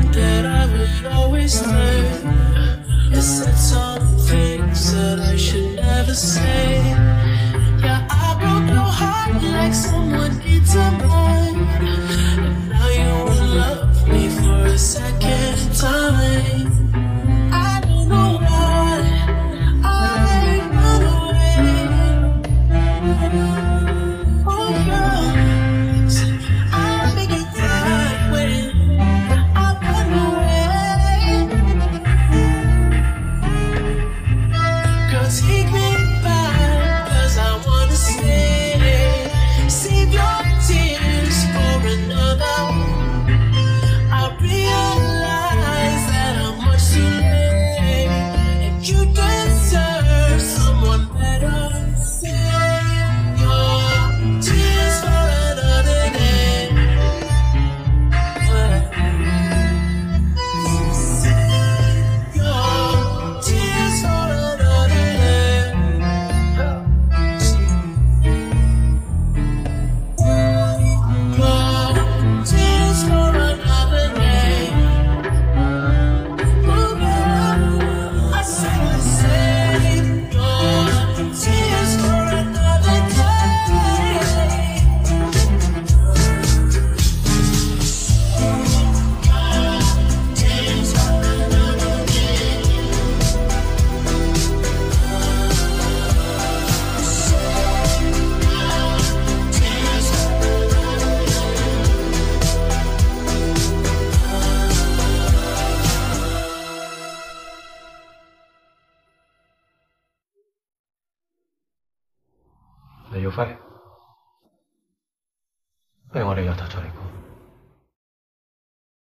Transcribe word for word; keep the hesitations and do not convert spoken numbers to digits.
that I would always learn. It said some things that I should never say. Yeah, I broke your heart like someone did to mine. And now you will love me for a second time. I don't know why I run away. Oh yeah, I make you cry when I run away. Girl, take me back, cause I wanna stay. Save your tears for another. I realize that I'm much too late, and you deserve someone better. Save your tears for another day. Save your tears for another day. Your tears for another day. Oh yeah, I said save your tears for another day. Tears for another day. Tears for 你要輝，不如我哋由頭再嚟過。